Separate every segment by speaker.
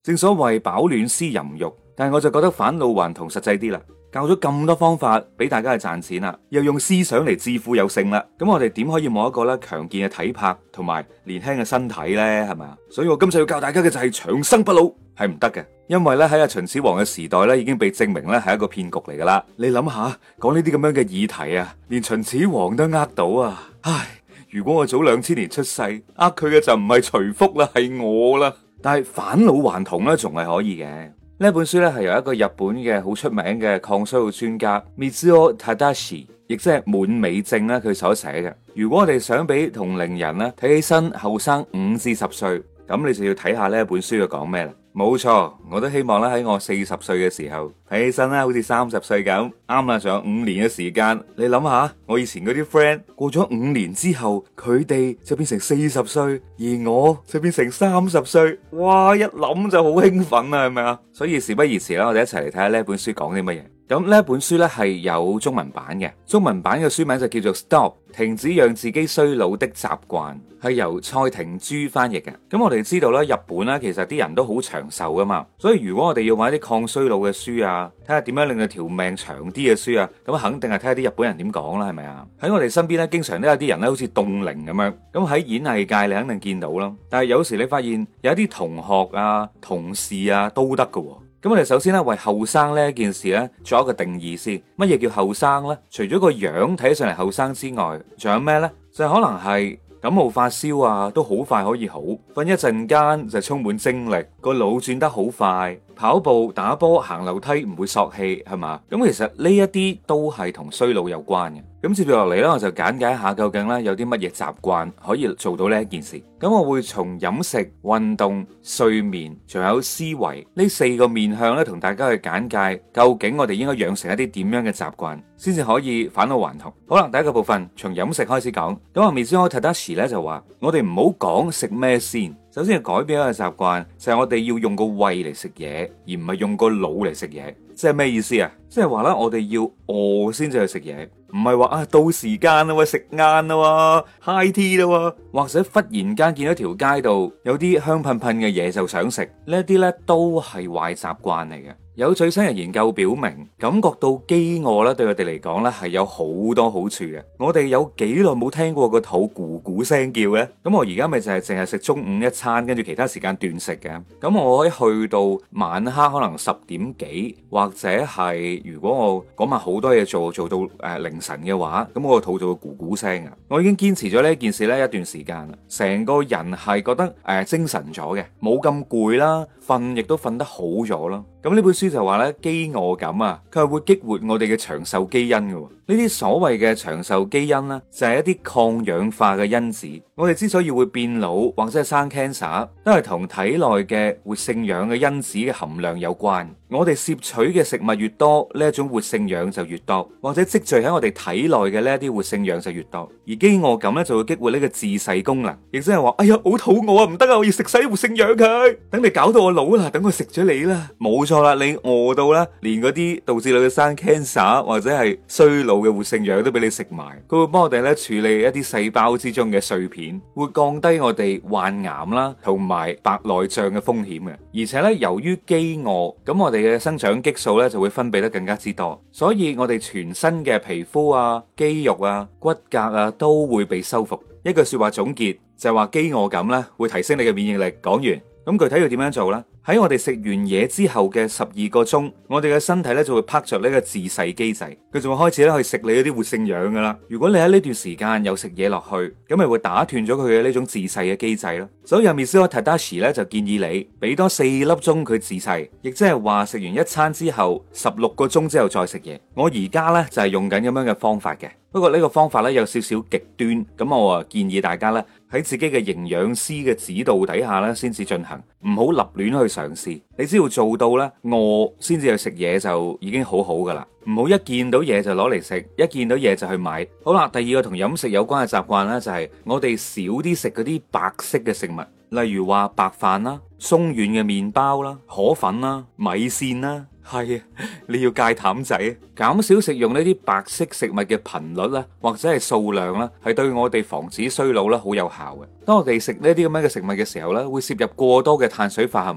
Speaker 1: 正所謂飽暖思淫欲，但係我就覺得返老還童實際啲啦。教咗咁多方法俾大家去賺錢啦，又用思想嚟致富有勝啦，咁我哋點可以冇一個咧強健嘅體魄同埋年輕嘅身體呢？係咪啊？所以我今次要教大家嘅就係長生不老，係唔得嘅，因為咧喺阿秦始皇嘅時代咧已經被證明咧係一個騙局嚟噶啦。你諗下，講呢啲咁樣嘅議題啊，連秦始皇都呃到啊！唉，如果我早2000年出世，呃佢嘅就唔係徐福啦，係我啦。但係返老還童咧，仲係可以嘅。呢本書咧係由一個日本嘅好出名嘅抗衰老專家 Mizuo Tadashi， 亦即係滿美正咧佢所寫嘅。如果我哋想俾同齡人咧睇起身後生5至10歲，咁你就要睇下呢本書嘅講咩啦。冇錯，我都希望咧喺我40歲嘅時候睇起身咧好似30歲咁。啱啦，仲有5年嘅時間。你諗下，我以前嗰啲 friend 過咗5年之後，佢哋就變成40歲，而我就變成30歲。哇，一諗就好興奮啊，係咪啊？所以事不宜遲啦，我哋一齊嚟睇下呢本書講啲乜嘢。咁呢本書咧係有中文版嘅，中文版嘅書名就叫做 Stop， 停止讓自己衰老的習慣，係由蔡婷珠翻譯嘅。咁我哋知道咧，日本咧其實啲人都好長壽噶嘛，所以如果我哋要買啲抗衰老嘅書啊，睇下點樣令到條命長啲嘅書啊，咁肯定係睇下啲日本人點講啦，係咪啊？喺我哋身邊咧，經常都有啲人咧好似凍齡咁樣，咁喺演藝界你肯定見到啦。但係有時你發現有一啲同學啊、同事啊都得噶。咁我哋首先咧為後生呢件事咧做一個定義先。乜嘢叫後生呢？除咗個樣睇起上嚟後生之外，仲有咩呢？就可能係感冒發燒啊，都好快可以好。瞓一陣間就充滿精力，個腦轉得好快。跑步、打波、行樓梯唔會索氣，係嘛？咁其實呢一啲都係同衰老有關嘅。咁接住落嚟咧，我就簡介一下究竟咧有啲乜嘢習慣可以做到呢一件事。咁我會從飲食、運動、睡眠，仲有思維呢4個面向咧，同大家去簡介究竟我哋應該養成一啲點樣嘅習慣，先至可以返老還童。好啦，第一個部分從飲食開始講。咁阿 Mizuo Tadashi 咧就話：我哋唔好講食咩先。首先係改變一個習慣，就係我哋要用個胃嚟食嘢，而唔係用個腦嚟食嘢。即係咩意思啊？即係話咧，我哋要餓先至去食嘢，唔係話啊到時間啦，食晏啦，high tea 啦，或者忽然間見到條街度有啲香噴噴嘅嘢就想食，呢一啲咧都係壞習慣嚟嘅。有最新嘅研究表明，感覺到飢餓咧，對我哋嚟講咧係有好多好處嘅。我哋有幾耐冇聽過個肚咕咕聲叫咧？咁我而家咪就係淨係食中午一餐，跟住其他時間斷食嘅。咁我可以去到晚黑可能10點幾，或者係如果我嗰晚好多嘢做到凌晨嘅話，咁我個肚就會咕咕聲啊！我已經堅持咗呢件事咧一段時間啦，成個人係覺得精神咗嘅，冇咁攰啦，瞓亦都瞓得好咗啦。咁呢本書就話咧，飢餓感啊，佢係會激活我哋嘅長壽基因嘅。呢啲所謂嘅長壽基因呢，就係一啲抗氧化嘅因子。我哋之所以會變老或者係生 cancer，都係同體內嘅活性氧嘅因子嘅含量有關。我哋攝取嘅食物越多，呢一種活性氧就越多，或者積聚喺我哋體內嘅呢一啲活性氧就越多。而飢餓感咧就會激活呢個自噬功能，亦即係話，哎呀，好肚餓啊，唔得啊，我要食晒啲活性氧佢，等你搞到我老啦，等我食咗你啦，冇錯啦，你餓到啦，連嗰啲導致你生 cancer 或者係衰老嘅活性氧都俾你食埋。佢會幫我哋咧處理一啲細胞之中嘅碎片，會降低我哋患癌啦同埋白內障嘅風險嘅。而且咧，由於飢餓，咁我哋嘅生長激素咧就會分泌得更加之多，所以我哋全身嘅皮膚啊、肌肉啊、骨骼啊都會被修復。一句說話總結就係話，飢餓感咧會提升你嘅免疫力。講完，咁具體要點樣做呢？喺我哋食完嘢之後嘅12個鐘，我哋嘅身體咧就會拍着呢個自噬機制，佢就會開始咧去食你嗰啲活性氧噶啦。如果你喺呢段時間有食嘢落去，咁咪會打斷咗佢嘅呢種自噬嘅機制咯。所以阿 Mizuo Tadashi 咧就建議你俾多4粒鐘佢自噬，亦即係話食完一餐之後16個鐘之後再食嘢。我而家咧就係用緊咁樣嘅方法嘅，不過呢個方法咧有少少極端，咁我建議大家咧喺自己嘅營養師嘅指導底下咧先至進行，唔好立亂去嘗試。你只要做到咧餓先至去食嘢就已經好好噶啦，唔好一見到嘢就攞嚟食，一見到嘢就去買。好啦，第二個同飲食有關嘅習慣咧就係我哋少啲食嗰啲白色嘅食物，例如話白飯啦、鬆軟嘅麵包啦、河粉啦、米線啦。係啊，你要戒淡仔，減少食用呢啲白色食物嘅頻率啦，或者係數量啦，係對我哋防止衰老啦好有效嘅。當我哋食呢啲咁樣嘅食物嘅時候咧，會攝入過多嘅碳水化合物，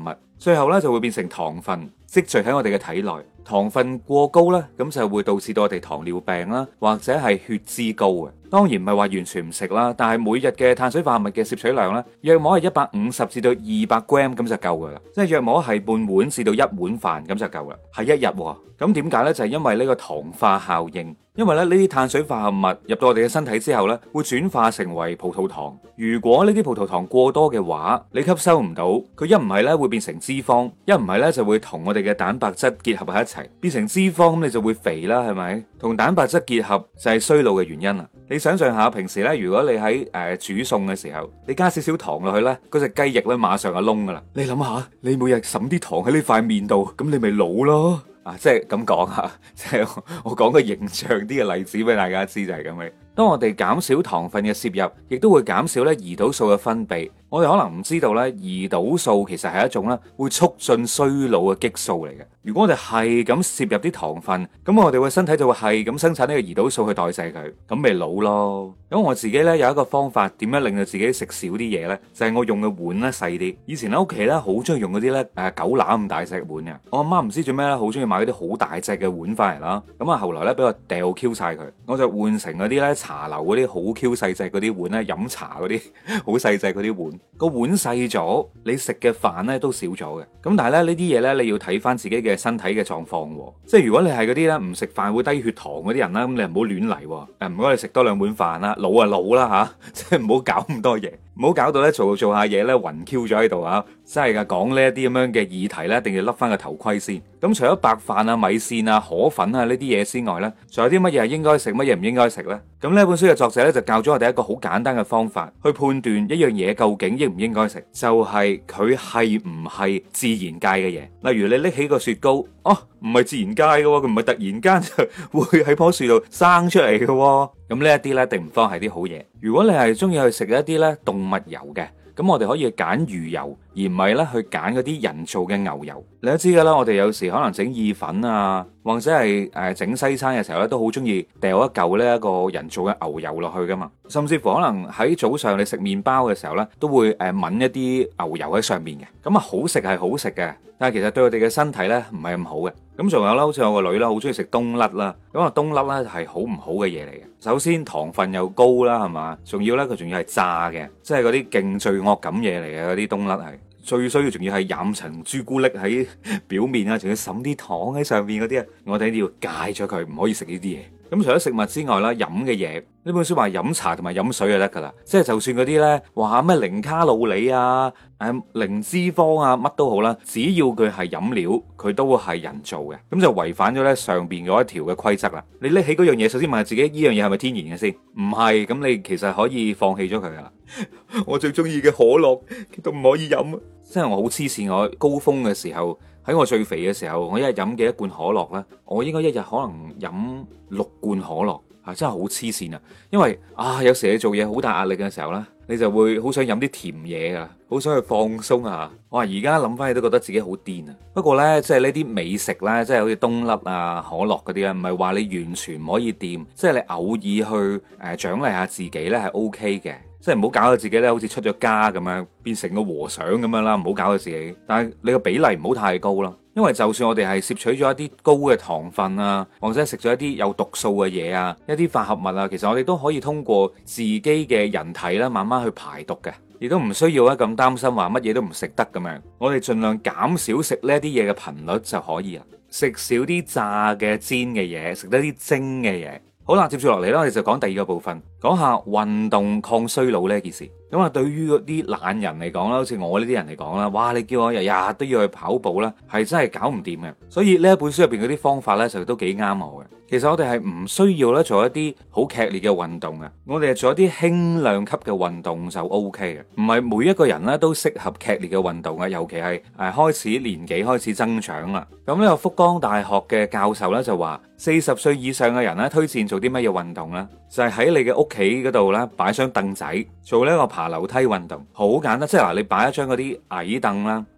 Speaker 1: 最後咧就會變成糖分積聚喺我哋嘅體內。糖分過高咧，咁就會導致到我哋糖尿病啦，或者係血脂高嘅。當然唔係話完全唔食啦，但係每日嘅碳水化合物嘅攝取量咧，約莫係150至到200 gram 咁就夠噶啦，即係約莫係半碗至到1碗飯咁就夠啦，係一日喎。咁點解呢？就係因為呢個糖化效應。因為咧呢啲碳水化合物入到我哋嘅身體之後咧，會轉化成為葡萄糖。如果呢啲葡萄糖過多嘅話，你吸收唔到，佢一唔係咧會變成脂肪，一唔係咧就會同我哋嘅蛋白質結合喺一齊，變成脂肪，咁你就會肥啦，係咪？同蛋白質結合就係衰老嘅原因啦。你想象下，平時咧如果你喺煮餸嘅時候，你加少少糖落去咧，嗰隻雞翼咧馬上就燶噶啦。你諗下，你每日揼啲糖喺呢塊面度，咁你咪老咯。即係咁講吓，即係我講個形象啲嘅例子俾大家知，就係咁嘅。當我哋減少糖分嘅攝入，亦都會減少咧胰島素嘅分泌。我哋可能唔知道咧，胰島素其實係一種咧會促進衰老嘅激素嚟嘅。如果我哋係咁攝入啲糖分，咁我哋嘅身體就會係咁生產呢個胰島素去代謝佢，咁咪老咯。咁我自己咧有一個方法，點樣令到自己食少啲嘢呢？就係我用嘅碗咧細啲。以前喺屋企咧好中意用嗰啲咧狗乸咁大隻碗嘅。我阿媽唔知做咩咧，好中意買嗰啲好大隻嘅碗翻嚟啦。咁啊後來咧俾我掉 Q 晒佢，我就換成嗰啲咧茶樓嗰啲好 Q 細隻嗰啲碗咧，飲茶嗰啲好細隻嗰啲碗。個碗細咗，你食嘅飯咧都少咗嘅。咁但係咧呢啲嘢咧，你要睇翻自己嘅身體嘅狀況。即係如果你係嗰啲咧唔食飯會低血糖嗰啲人啦，咁你唔好亂嚟。唔該你食多2碗飯啦，老啊老啦吓，即係唔好搞咁多嘢。唔好搞到咧做下嘢咧暈 Q 咗喺度啊！真係噶，講呢一啲咁樣嘅議題咧，一定要笠翻個頭盔先。咁除咗白飯啊、米線啊、河粉啊呢啲嘢之外咧，仲有啲乜嘢係應該食，乜嘢唔應該食呢？咁呢本書嘅作者咧就教咗我哋一個好簡單嘅方法去判斷一樣嘢究竟應唔應該食，就係佢係唔係自然界嘅嘢。例如你拎起個雪糕，唔係自然界嘅，佢唔係突然間就會喺棵樹度生出嚟嘅。咁呢一啲咧，一定唔方係啲好嘢。如果你係中意去食一啲咧動物油嘅，咁我哋可以揀魚油，而唔係咧去揀嗰啲人造嘅牛油。你都知噶啦，我哋有時可能整意粉啊，或者係整西餐嘅時候咧，都好中意掉一嚿呢一個人造嘅牛油落去噶嘛。甚至乎可能喺早上你食麵包嘅時候咧，都會抿一啲牛油喺上面嘅。咁啊好食係好食嘅，但係其實對我哋嘅身體咧唔係咁好嘅。咁仲有啦，好似我個女啦，好中意食冬甩啦。咁啊冬甩咧係好唔好嘅嘢嚟嘅。首先糖分又高啦，係嘛？仲要咧佢仲要係炸嘅，即係嗰啲勁罪惡感嘢嚟嘅嗰啲冬甩係。最衰嘅仲要係染層朱古力喺表面啊，仲要滲啲糖喺上面嗰啲啊，我哋要戒咗佢，唔可以食呢啲嘢。咁除咗食物之外啦，飲嘅嘢呢本書話飲茶同埋飲水就得噶啦，即係就算嗰啲呢話咩零卡路里啊、零脂肪啊乜都好啦，只要佢係飲料，佢都係人造嘅，咁就違反咗呢上邊嗰一條嘅規則啦。你拎起嗰樣嘢，首先問下自己呢樣嘢係咪天然嘅先？唔係，咁你其實可以放棄咗佢噶啦。我最中意嘅可樂都唔可以飲，即係我好黐線。我高峰嘅時候，喺我最肥嘅時候，我一日飲嘅1罐可樂咧，我應該一日可能飲6罐可樂，真係好黐線啊！因為有時你做嘢好大壓力嘅時候咧，你就會好想飲啲甜嘢啊，好想去放鬆啊！我話而家諗翻起都覺得自己好癲啊！不過呢，即係呢啲美食呢，即係好似冬甩啊、可樂嗰啲咧，唔係話你完全唔可以掂，即係你偶爾去獎勵下自己呢係 OK 嘅。即係唔好搞到自己咧，好似出咗家咁樣，變成個和尚咁樣啦，唔好搞到自己。但係你個比例唔好太高啦，因為就算我哋係攝取咗一啲高嘅糖分啊，或者食咗一啲有毒素嘅嘢啊，一啲化合物啊，其實我哋都可以通過自己嘅人體啦，慢慢去排毒嘅，亦都唔需要咧咁擔心話乜嘢都唔食得咁樣。我哋盡量減少食呢啲嘢嘅頻率就可以啦，食少啲炸嘅煎嘅嘢，食多啲蒸嘅嘢。好啦，接住落嚟啦，我哋就講第二個部分，講下運動抗衰老呢件事。咁啊，對於嗰啲懶人嚟講啦，好似我呢啲人嚟講啦，哇！你叫我日日都要去跑步啦，係真係搞唔掂嘅。所以呢一本書入邊嗰啲方法呢，就都幾啱我嘅。其實我哋係唔需要咧做一啲好劇烈嘅運動嘅，我哋係做一啲輕量級嘅運動就 OK 嘅。唔係每一個人咧都適合劇烈嘅運動嘅，尤其係開始年紀開始增長啦。咁呢個福岡大學嘅教授咧就話，40歲以上嘅人咧推薦做啲乜嘢運動呢？就係喺你嘅屋企嗰度咧擺張凳仔，做呢個爬樓梯運動，好簡單。即係嗱，你擺一張嗰啲矮凳啦，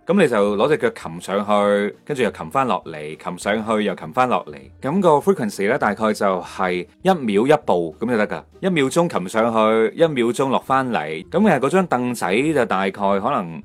Speaker 1: 咁你就攞隻腳擒上去，跟住又擒翻落嚟，擒上去又擒翻落嚟。咁個 frequency 咧大概就係1秒1步咁就得噶，1秒鐘擒上去，1秒鐘落翻嚟。咁嗰張凳仔就大概可能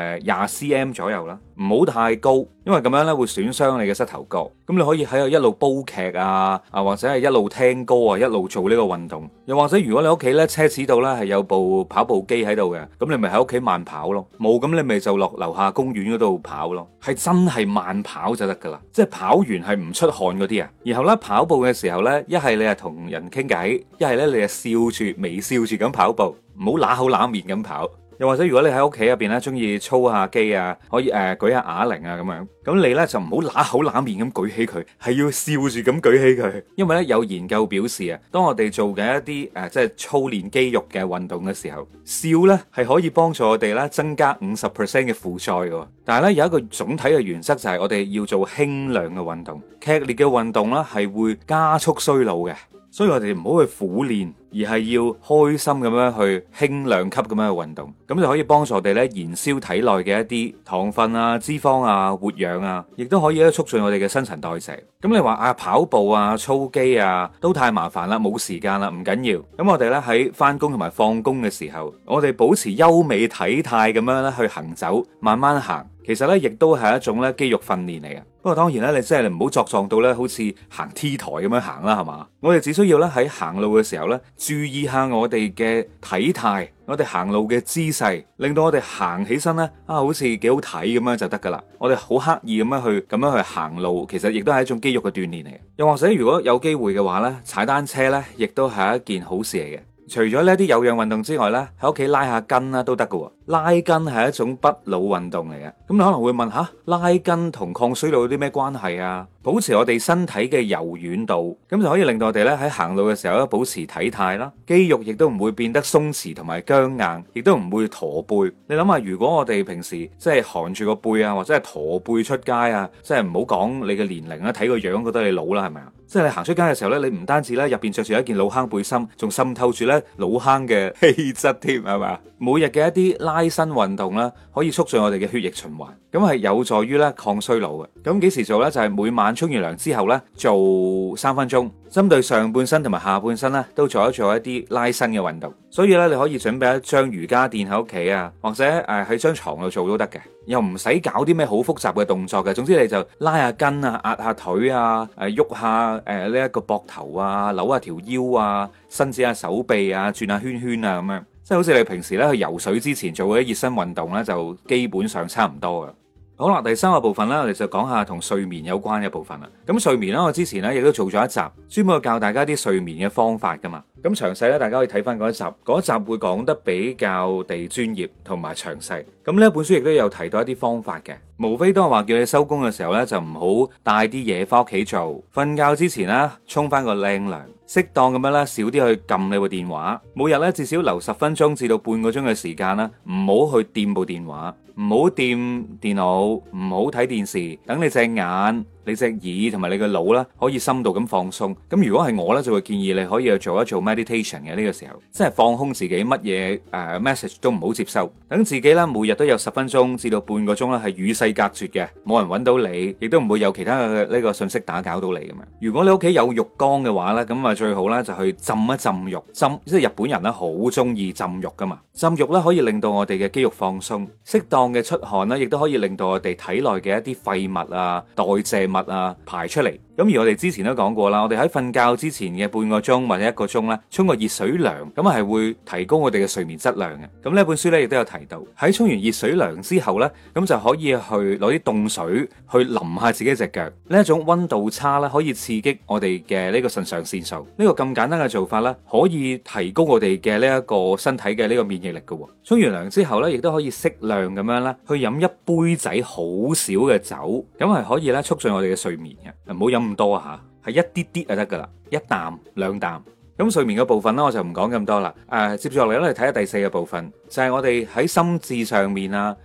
Speaker 1: 20cm 左右啦，唔好太高，因為咁樣咧會損傷你嘅膝頭哥。咁你可以喺度一路煲劇啊，或者係一路聽歌啊，一路做呢個運動。又或者如果你屋企咧奢侈到咧係有部跑步機喺度嘅，咁你咪喺屋企慢跑咯。冇咁你咪就落樓下公園嗰度跑咯，係真係慢跑就得噶啦，即係跑完係唔出汗嗰啲啊。然後咧跑步嘅時候咧，一係你係同人傾偈，一係咧你係笑住微笑住咁跑步，唔好揦口揦面咁跑。又或者如果你喺屋企入邊咧中意操下機啊，可以舉下啞鈴啊咁樣，咁你咧就唔好揦口揦面咁舉起佢，係要笑住咁舉起佢。因為咧有研究表示啊，當我哋做嘅一啲即係操練肌肉嘅運動嘅時候，笑咧係可以幫助我哋咧增加50% 嘅負載嘅。但係咧有一個總體嘅原則就係我哋要做輕量嘅運動，劇烈嘅運動咧係會加速衰老嘅。所以我哋唔好去苦練，而係要開心咁樣去輕量級咁樣去運動，咁就可以幫助我哋咧燃燒體內嘅一啲糖分啊、脂肪啊、活氧啊，亦都可以咧促進我哋嘅新陳代謝。咁你話跑步啊、操肌啊都太麻煩啦，冇時間啦，唔緊要。咁我哋咧喺翻工同埋放工嘅時候，我哋保持優美體態咁樣咧去行走，慢慢行。其實咧，亦都係一種咧肌肉訓練嚟嘅。不過當然咧，你真係唔好作狀到咧，好似行 T 台咁樣行啦，係嘛？我哋只需要咧喺行路嘅時候咧，注意下我哋嘅體態，我哋行路嘅姿勢，令到我哋行起身咧好似幾好睇咁樣就得噶啦。我哋好刻意咁樣去行路，其實亦都係一種肌肉嘅鍛煉嚟嘅。又或者如果有機會嘅話咧，踩單車咧，亦都係一件好事嚟嘅。除咗呢啲有氧運動之外咧，喺屋企拉下筋啦都得噶。拉筋係一種不老運動嚟嘅。咁你可能會問下，拉筋同抗衰老有啲咩關係啊？保持我哋身體嘅柔軟度，咁就可以令到我哋咧喺行路嘅時候咧保持體態啦，肌肉亦都唔會變得鬆弛同埋僵硬，亦都唔會駝背。你諗下，如果我哋平時即係含住個背啊，或者係駝背出街啊，即係唔好講你嘅年齡啦，睇個樣覺得你老啦，係咪啊？即係你行出街嘅時候咧，你唔單止咧入邊着住一件老坑背心，仲滲透住咧老坑嘅氣質添，係嘛？每日嘅一啲拉伸運動啦，可以促進我哋嘅血液循環，咁係有助於咧抗衰老嘅。咁幾時做咧？就係每晚沖完涼之後咧，做3分鐘，針對上半身同埋下半身咧，都做一啲拉伸嘅運動。所以咧，你可以準備一張瑜伽墊喺屋企啊，或者喺張床度做都得嘅，又唔使搞啲咩好複雜嘅動作嘅。總之你就拉下筋啊，壓下腿啊，喐下呢一個膊頭啊，扭下條腰啊，伸展下手臂啊，轉下圈圈啊咁樣。即係好似你平時咧去游水之前做嗰啲熱身運動咧，就基本上差唔多噶。好啦，第三個部分咧，我哋就講下同睡眠有關嘅部分啦。咁睡眠咧，我之前咧亦都做咗一集，專門教大家啲睡眠嘅方法噶嘛。咁詳細咧，大家可以睇翻嗰一集，嗰一集會講得比較地專業同埋詳細。咁呢一本書亦都有提到一啲方法嘅，無非都係話叫你收工嘅時候咧，就唔好帶啲嘢翻屋企做，瞓覺之前咧沖翻個靚涼。適當咁樣咧，少啲去撳你部電話，每日咧至少留10分鐘至到半個鐘嘅時間啦，唔好去掂部電話，唔好掂電腦，唔好睇電視，等你隻眼、你隻耳同埋你個腦啦，可以深度咁放鬆。咁如果係我咧，就會建議你可以去做一做 meditation 嘅呢個時候，即係放空自己，乜嘢message 都唔好接收，等自己咧每日都有10分鐘至到半個鐘啦，係與世隔絕嘅，冇人揾到你，亦都唔會有其他嘅呢個信息打攪到你咁樣。如果你屋企有浴缸嘅話咧，咁啊最好咧就去浸一浸浴，即係日本人咧好中意浸浴噶嘛。浸浴咧可以令到我哋嘅肌肉放鬆，適當嘅出汗咧，亦都可以令到我哋體內嘅一啲廢物啊、代謝物啊排出嚟。咁而我哋之前都講過啦，我哋喺瞓覺之前嘅半個鐘或者1個鐘咧，沖個熱水涼，咁係會提高我哋嘅睡眠質量嘅。咁呢本書咧亦都有提到，喺沖完熱水涼之後咧，咁就可以去攞啲凍水去淋下自己隻腳。呢一種溫度差咧，可以刺激我哋嘅呢個腎上腺素。呢個咁簡單嘅做法咧，可以提高我哋嘅呢一個身體嘅呢個免疫力嘅。沖完涼之後咧，亦都可以適量咁樣咧，去飲一杯仔好少嘅酒，咁係可以咧促進我哋嘅睡眠嘅。唔好飲咁多啊吓，係一啲啲就得噶啦，1啖2啖。咁睡眠嘅部分咧，我就唔講咁多啦。接住落嚟咧，嚟睇下第4個部分，就係我哋喺心智上面啊，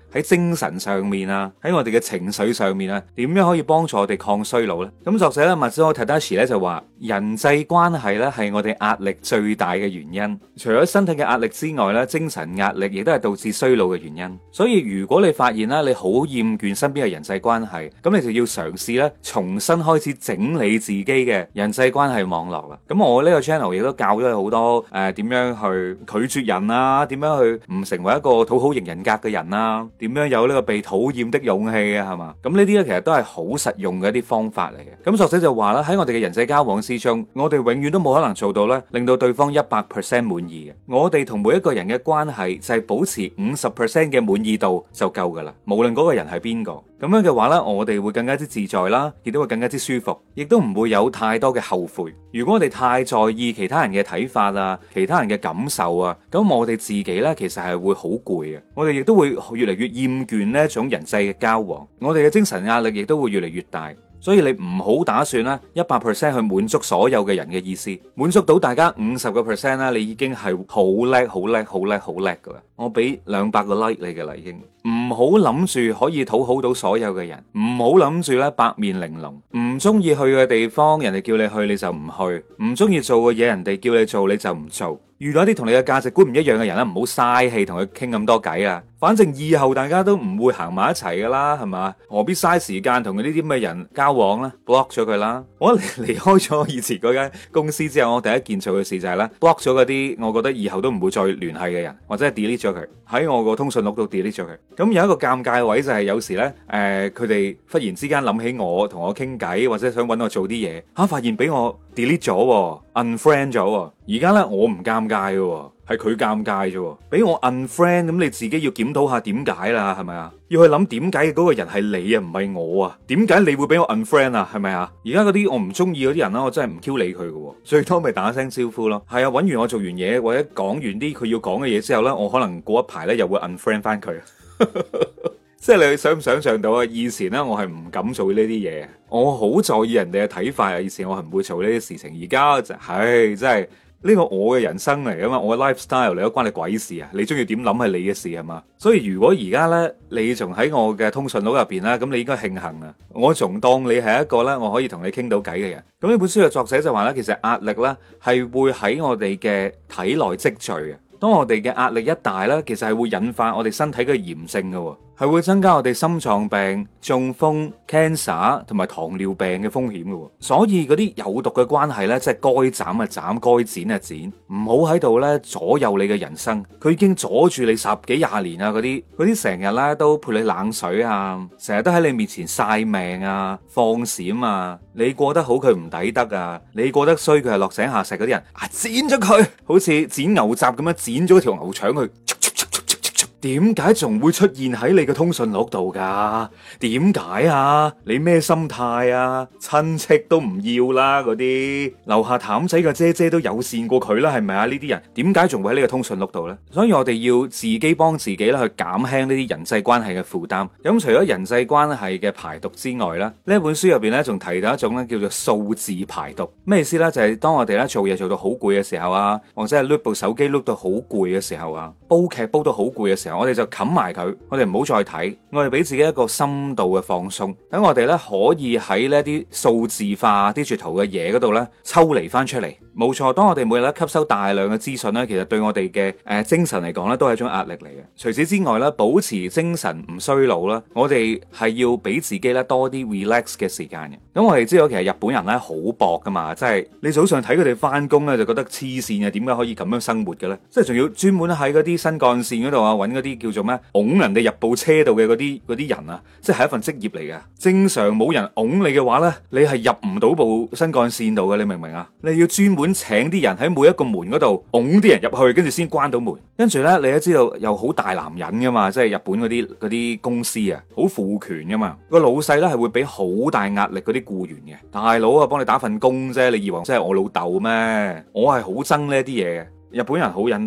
Speaker 1: 喺精神上面啊，喺我哋嘅情緒上面啊，點樣可以幫助我哋抗衰老呢？咁作者咧Matsuo Tadashi 咧就話，人際關係咧係我哋壓力最大嘅原因。除咗身體嘅壓力之外咧，精神壓力亦都係導致衰老嘅原因。所以如果你發現啦，你好厭倦身邊嘅人際關係，咁你就要嘗試咧重新開始整理自己嘅人際關係網絡啦。咁我呢個 channel 亦都教咗你好多點樣去拒絕人啊，點樣去唔成為一個討好型人格嘅人啊，點樣有呢個被討厭的勇氣啊，係嘛？咁呢啲咧其實都係好實用嘅一啲方法嚟嘅。咁作者就話啦，喺我哋嘅人際交往之中，我哋永遠都冇可能做到咧令到對方100% 滿意嘅。我哋同每一個人嘅關係就係保持50% 嘅滿意度就夠噶啦，無論嗰個人係邊個。咁樣嘅話呢，我哋會更加之自在啦，亦都會更加之舒服，亦都唔會有太多嘅後悔。如果我哋太在意其他人嘅睇法啊，其他人嘅感受啊，咁我哋自己呢，其實係會好攰嘅，我哋亦都會越嚟越厭倦呢一種人際嘅交往，我哋嘅精神壓力亦都會越嚟越大。所以你唔好打算啦，100% 去滿足所有嘅人嘅意思，滿足到大家50%啦，你已經係好叻、好叻、好叻、好叻噶啦。我俾200個 like 你嘅啦，已經。唔好諗住可以討好到所有嘅人，唔好諗住咧八面玲瓏，唔中意去嘅地方，人哋叫你去你就唔去，唔中意做嘅嘢，人哋叫你做你就唔做。遇到一啲同你嘅價值觀唔一樣嘅人咧，唔好嘥氣同佢傾咁多偈啊！反正以後大家都唔會行埋一齊噶啦，係嘛？何必嘥時間同呢啲咁嘅人交往呢？ block 咗佢啦！我離開咗以前嗰間公司之後，我第一件做嘅事就係咧 block 咗嗰啲我覺得以後都唔會再聯繫嘅人，或者係 delete 咗佢喺我個通訊錄度 delete 咗佢。咁有一個尷尬位就係有時呢，佢哋忽然之間諗起我同我傾偈，或者想揾我做啲嘢，發現俾我 delete 咗，unfriend 咗。而家呢，我唔尷尬嘅，係佢尷尬啫。俾我 unfriend，咁你自己要檢討下點解啦，係咪啊？要去諗點解嗰個人係你啊，唔係我啊？點解你會俾我 unfriend 啊？係咪啊？而家嗰啲我唔中意嗰啲人啦，我真係唔 Q 理佢嘅，最多咪打聲招呼咯。係啊，揾完我做完嘢或者講完啲佢要講嘅嘢之後呢，我可能過一排呢又會 unfriend 翻佢。即係你想唔想象到啊？以前呢，我係唔敢做呢啲嘢，我好在意人哋嘅睇法啊。以前我係唔會做呢啲事情，而家就係真係呢個我嘅人生嚟噶嘛，我嘅 lifestyle 嚟，都關你鬼事啊！你中意點諗係你嘅事係嘛？所以如果而家呢，你仲喺我嘅通訊錄入邊啦，咁你應該慶幸啊！我仲當你係一個呢，我可以同你傾到偈嘅人。咁呢本書嘅作者就話呢，其實壓力呢係會喺我哋嘅體內積聚嘅。當我哋嘅壓力一大呢，其實係會引發我哋身體嘅炎症嘅，係會增加我哋心臟病、中風、cancer 同埋糖尿病嘅風險嘅。所以嗰啲有毒嘅關係呢，即係該斬啊斬，該剪啊剪，唔好喺度呢左右你嘅人生。佢已經阻住你10幾20年啊！嗰啲成日呢都潑你冷水啊，成日都喺你面前晒命啊、放閃啊，你過得好佢唔抵得啊，你過得衰佢係落井下石嗰啲人啊，剪咗佢，好似剪牛雜咁樣剪咗條牛腸去。點解仲會出現喺你嘅通訊錄度噶？點解啊？你咩心態啊？親戚都唔要啦，嗰啲樓下譚仔嘅姐姐都友善過佢啦，係咪啊？呢啲人點解仲會喺呢個通訊錄度呢？所以我哋要自己幫自己啦，去減輕呢啲人際關係嘅負擔。咁除咗人際關係嘅排毒之外咧，呢一本書入邊咧仲提到一種咧叫做數字排毒。咩意思呢？就係當我哋咧做嘢做到好攰嘅時候啊，或者係碌部手機碌到好攰嘅時候啊，煲劇煲到好攰嘅時候，我哋就冚埋佢，我哋唔好再睇，我哋俾自己一個深度嘅放鬆，等我哋咧可以喺呢啲數字化 digital 嘅嘢嗰度咧抽離翻出嚟。冇錯，當我哋每日咧吸收大量嘅資訊咧，其實對我哋嘅精神嚟講咧都係一種壓力嚟嘅。除此之外咧，保持精神唔衰老啦，我哋係要俾自己咧多啲 relax 嘅時間嘅。咁我哋知道其實日本人咧好搏噶嘛，即係你早上睇佢哋翻工咧就覺得黐線嘅，點解可以咁樣生活嘅咧？即係仲要專門喺嗰啲新幹線嗰度啊，揾嗰啲叫做咩拱人哋入部車度嘅嗰啲人啊，即係一份職業嚟嘅。正常冇人拱你嘅話咧，你係入唔到部新幹線度嘅，你明唔明啊？你要專門請啲人喺每一個門嗰度拱啲人入去，跟住先關到門。跟住咧，你都知道又好大男人噶嘛，即係日本嗰啲公司啊，好父權噶嘛。個老細咧係會俾好大壓力嗰啲僱員嘅。大佬啊，幫你打份工啫，你以為真係我老豆咩？我係好憎呢啲嘢嘅。日本人好忍得嘅，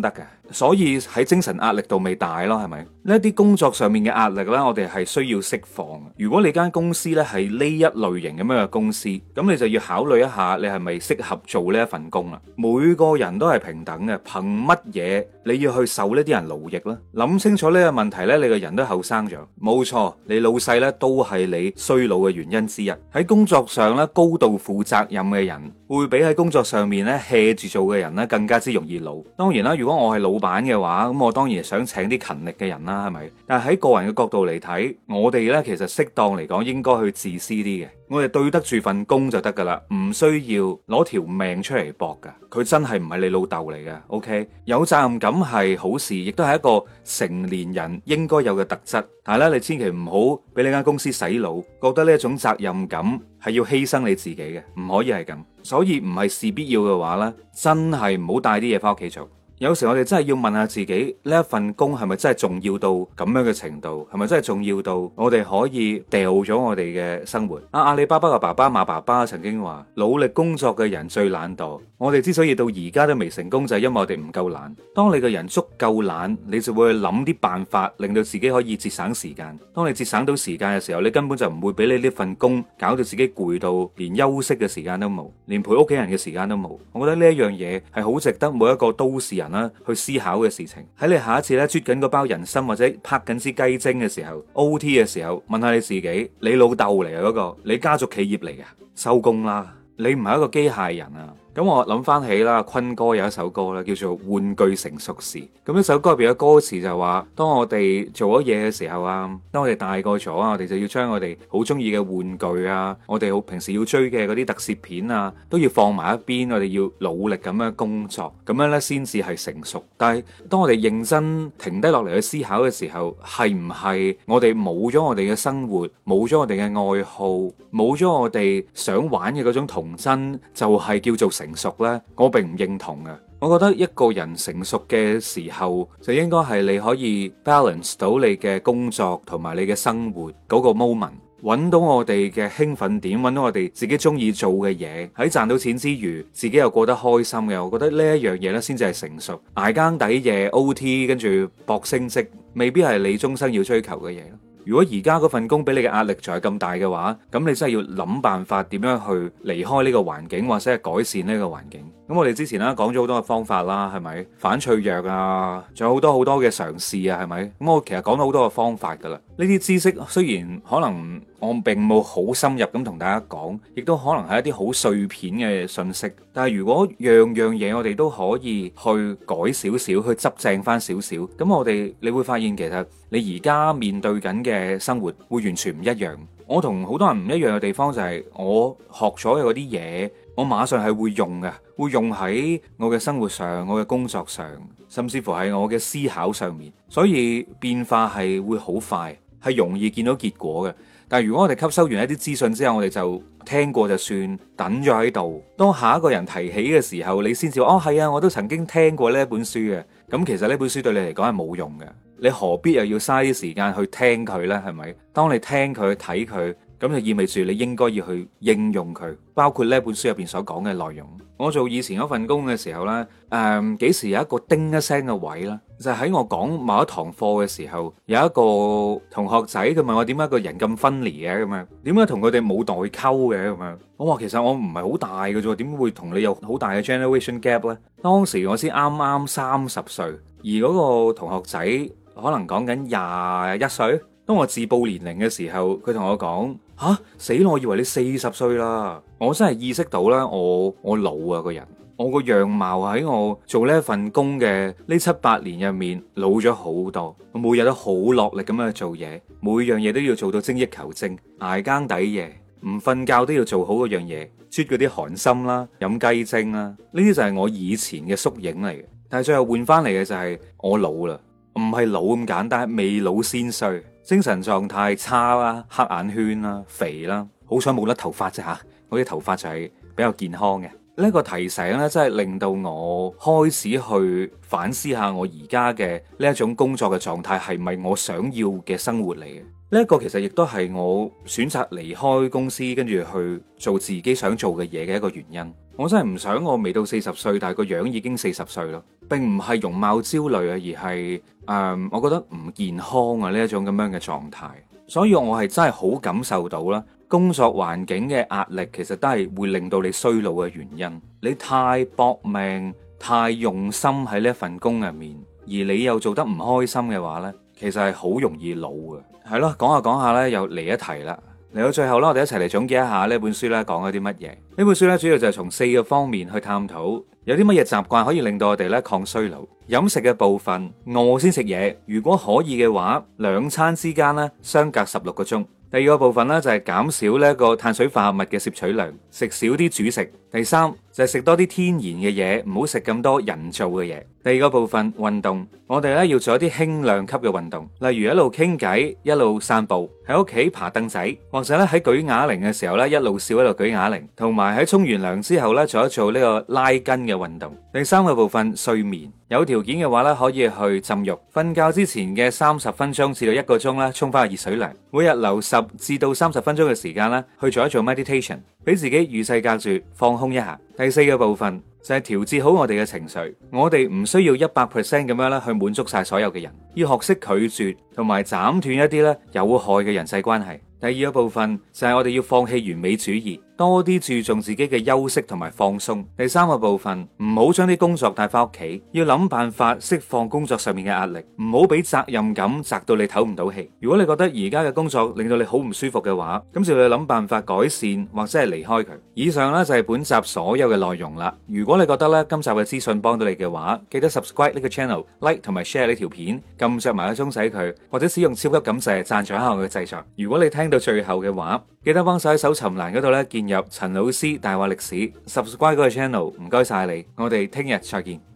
Speaker 1: 所以喺精神壓力度未大咯，係咪？呢一啲工作上面嘅壓力咧，我哋係需要釋放。如果你間公司咧係呢一類型咁樣嘅公司，咁你就要考慮一下，你係咪適合做呢一份工啦？每個人都係平等嘅，憑乜嘢你要去受呢啲人勞役咧？諗清楚呢個問題咧，你個人都後生咗，冇錯，你老細咧都係你衰老嘅原因之一。喺工作上咧，高度負責任嘅人會比喺工作上面咧 hea 住做嘅人咧更加之容易老。當然啦，如果我係老闆嘅話，咁我當然想請啲勤力嘅人啦，係咪？但係喺個人嘅角度嚟睇，我哋咧其實適當嚟講應該去自私啲嘅，我哋對得住份工就得噶啦，唔需要攞條命出嚟搏噶。佢真係唔係你老豆嚟嘅，OK？有責任感係好事，亦都係一個成年人應該有嘅特質。但係咧，你千祈唔好俾你間公司洗腦，覺得呢一種責任感係要犧牲你自己嘅，唔可以係咁。所以唔係事必要嘅話咧，真係唔好帶啲嘢翻屋企做。有時我哋真係要問下自己，呢一份工係咪真係重要到咁樣嘅程度？係咪真係重要到我哋可以掉咗我哋嘅生活？阿里巴巴嘅爸爸馬爸爸曾經話：努力工作嘅人最懶惰。我哋之所以到而家都未成功，就係因為我哋唔夠懶。當你個人足夠懶，你就會去諗啲辦法，令到自己可以節省時間。當你節省到時間嘅時候，你根本就唔會俾你呢份工搞到自己攰到連休息嘅時間都冇，連陪屋企人嘅時間都冇。我覺得呢一樣嘢係好值得每一個都市人去思考嘅事情。喺你下一次咧啜緊嗰包人參或者拍緊支雞精嘅時候 OT 嘅時候，問下你自己，你老豆嚟嘅嗰個，你家族企業嚟嘅，收工啦，你唔係一個機械人啊。咁我諗翻起啦，坤哥有一首歌咧，叫做《玩具成熟時》。咁呢首歌入邊嘅歌詞就話，當我哋做咗嘢嘅時候啊，當我哋大個咗啊，我哋就要將我哋好中意嘅玩具啊，我哋好平時要追嘅嗰啲特攝片啊，都要放埋一邊，我哋要努力咁樣工作，咁樣咧先至係成熟。但係當我哋認真停低落嚟去思考嘅時候，係唔係我哋冇咗我哋嘅生活，冇咗我哋嘅愛好，冇咗我哋想玩嘅嗰種童真，就係叫做成熟呢？我並唔認同嘅。我覺得一個人成熟嘅時候，就應該係你可以 balance 到你嘅工作同埋你嘅生活嗰個 moment，揾到我哋嘅興奮點，揾到我哋自己中意做嘅嘢，喺賺到錢之餘，自己又過得開心嘅。我覺得呢一樣嘢呢，先至係成熟。捱更抵夜 OT 跟住搏升職，未必係你終生要追求嘅嘢。如果而家嗰份工俾你嘅壓力仲係咁大嘅話，咁你真係要諗辦法點樣去離開呢個環境，或者係改善呢個環境。咁我哋之前啦講咗好多嘅方法啦，係咪？反脆弱啊，仲有好多嘅嘗試啊，係咪？咁我其實講咗好多嘅方法噶啦。呢啲知識雖然可能我並冇好深入咁同大家講，亦都可能係一啲好碎片嘅信息。但係如果樣樣嘢我哋都可以去改少少，去執正翻少少，咁你會發現其實你而家面對緊嘅生活會完全唔一樣。我同好多人唔一樣嘅地方就係我學咗嘅嗰啲嘢，我馬上係會用嘅，會用喺我嘅生活上、我嘅工作上，甚至乎係我嘅思考上面。所以變化係會好快，係容易見到結果嘅。但係如果我哋吸收完一啲資訊之後，我哋就聽過就算，等咗喺度。當下一個人提起嘅時候，你先至哦係啊，我都曾經聽過呢一本書嘅。咁其實呢本書對你嚟講係冇用嘅，你何必又要嘥啲時間去聽佢呢？係咪？當你聽佢、睇佢，咁就意味住你應該要去應用佢，包括呢本書入邊所講嘅內容。我做以前嗰份工嘅時候呢，幾時有一個叮一聲嘅位呢？就係喺我講某一堂課嘅時候，有一個同學仔佢問我點解個人咁分離嘅咁樣，點解同佢哋冇代溝嘅咁樣？我話其實我唔係好大嘅啫，點會同你有好大嘅 generation gap 呢？當時我先啱啱30歲，而嗰個同學仔可能講緊21歲。當我自報年齡嘅時候，佢同我講：吓，死啦！我以為你40歲啦。我真係意識到啦，我老啊個人，我個樣貌喺我做呢一份工嘅呢7-8年入面老咗好多。我每日都好落力咁樣去做嘢，每樣嘢都要做到精益求精，捱更抵夜，唔瞓覺都要做好嗰樣嘢，啜嗰啲寒心啦，飲雞精啦，呢啲就係我以前嘅縮影嚟嘅。但係最後換翻嚟嘅就係我老啦，唔係老咁簡單，未老先衰。精神狀態差啦，黑眼圈啦，肥啦，好彩冇甩頭髮啫吓，我啲頭髮就係比較健康嘅。呢個提醒咧，真係令到我開始去反思下我而家嘅呢一種工作嘅狀態係咪我想要嘅生活嚟嘅。呢一個其實亦都係我選擇離開公司跟住去做自己想做嘅嘢嘅一個原因。 我真係唔想我未到40歲，但係個樣已經40歲咯，並唔係容貌焦慮啊，而係我覺得唔健康啊呢一種咁樣嘅狀態。所以我係真係好感受到啦，工作環境嘅壓力其實都係會令到你衰老嘅原因。你太搏命、太用心喺呢一份工入面，而你又做得唔開心嘅話呢，其實係好容易老嘅。係咯，講下講下呢，又嚟一題啦。嚟到最後啦，我哋一齊嚟總結一下呢本書咧講咗啲乜嘢。呢本書咧主要就係從4個方面去探討，有啲乜嘢習慣可以令到我哋咧抗衰老。飲食嘅部分，餓先食嘢，如果可以嘅話，2餐之間咧相隔16個鐘。第二個部分咧就係減少呢一個碳水化合物嘅攝取量，食少啲主食。第三就係食多啲天然嘅嘢，唔好食咁多人造嘅嘢。第二個部分運動，我哋咧要做一啲輕量級嘅運動，例如一路傾偈一路散步，喺屋企爬凳仔，或者咧喺舉啞鈴嘅時候咧一路笑一路舉啞鈴，同埋喺沖完涼之後咧做一做呢個拉筋嘅運動。第三個部分睡眠，有條件嘅話咧可以去浸浴，瞓覺之前嘅30分鐘至到1個鐘咧沖翻個熱水涼，每日留10至到30分鐘嘅時間咧去做一做 meditation， 俾自己與世隔絕，放空一下。第四個部分就係調節好我哋嘅情緒，我哋唔需要100% 咁樣咧去滿足晒所有嘅人，要學識拒絕同埋斬斷一啲咧有害嘅人際關係。第二個部分就係我哋要放棄完美主義，多啲注重自己嘅休息同埋放鬆。第三個部分，唔好將啲工作帶翻屋企，要諗辦法釋放工作上面嘅壓力，唔好俾責任感砸到你唞唔到氣。如果你覺得而家嘅工作令到你好唔舒服嘅話，咁就要諗辦法改善或者係離開佢。以上呢就係本集所有嘅內容啦。如果你覺得咧今集嘅資訊幫到你嘅話，記得 subscribe 呢個 channel、like 同埋 share 呢條片，撳着埋個鐘仔佢，或者使用超級感謝贊助一下我嘅製作。如果你聽到最後嘅話，記得幫手喺搜尋欄嗰度咧建入陳老師大話歷史 ，subscribe 嗰個 channel，唔該晒你，我哋聽日再見。